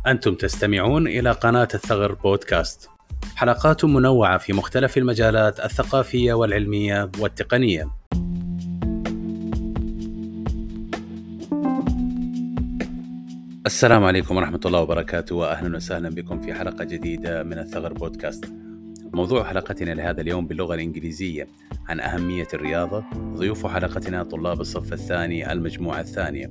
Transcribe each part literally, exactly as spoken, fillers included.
أنتم تستمعون إلى قناة الثغر بودكاست، حلقات منوعة في مختلف المجالات الثقافية والعلمية والتقنية. السلام عليكم ورحمة الله وبركاته، وأهلا وسهلا بكم في حلقة جديدة من الثغر بودكاست. موضوع حلقتنا لهذا اليوم باللغة الإنجليزية عن أهمية الرياضة. ضيوف حلقتنا طلاب الصف الثاني المجموعة الثانية.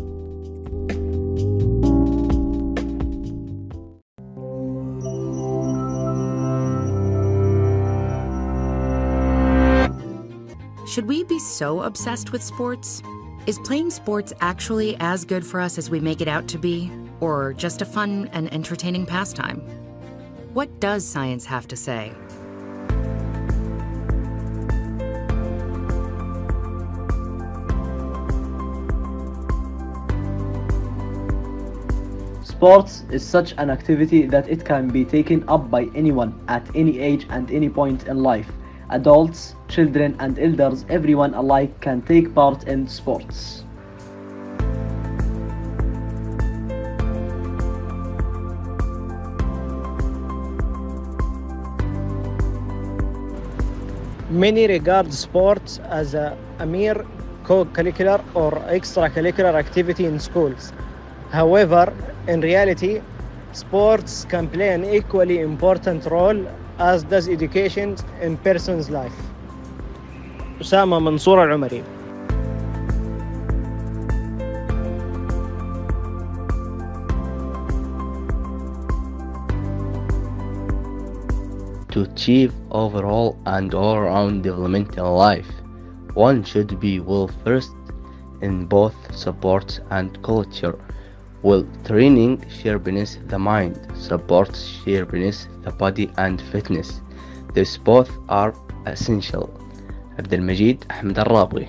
Should we be so obsessed with sports? Is playing sports actually as good for us as we make it out to be, or just a fun and entertaining pastime? What does science have to say? Sports is such an activity that it can be taken up by anyone at any age and any point in life. Adults, children and elders, everyone alike can take part in sports. Many regard sports as a, a mere co-curricular or extracurricular activity in schools. However, in reality, sports can play an equally important role as does education in person's life. أسامة منصور العمري. To achieve overall and all-round development in life, one should be well versed in both sports and culture. Well, training sharpens the mind, supports sharpens the body and fitness. These both are essential. عبد المجيد أحمد الرابغي.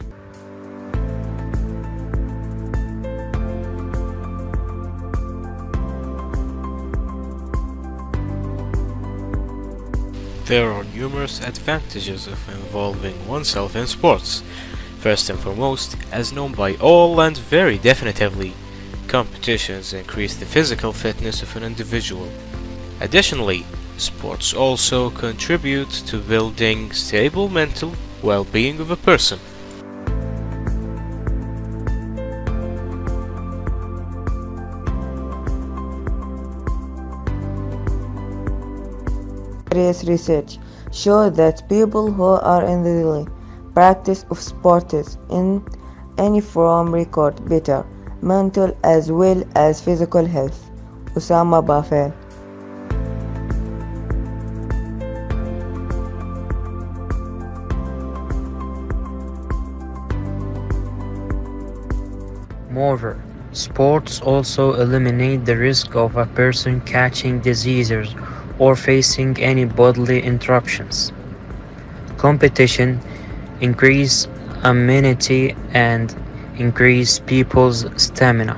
There are numerous advantages of involving oneself in sports. First and foremost, as known by all and very definitively, competitions increase the physical fitness of an individual. Additionally, sports also contribute to building stable mental well-being of a person. Various research show that people who are in the daily practice of sports in any form record better mental as well as physical health. Osama Bafel. Moreover, sports also eliminate the risk of a person catching diseases or facing any bodily interruptions. Competition increase immunity and increase people's stamina.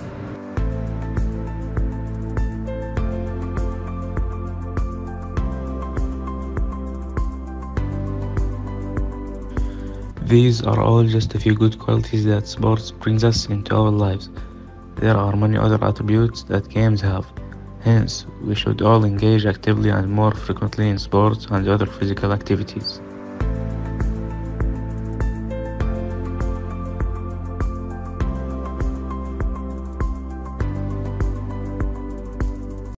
These are all just a few good qualities that sports brings us into our lives. There are many other attributes that games have. Hence, we should all engage actively and more frequently in sports and other physical activities.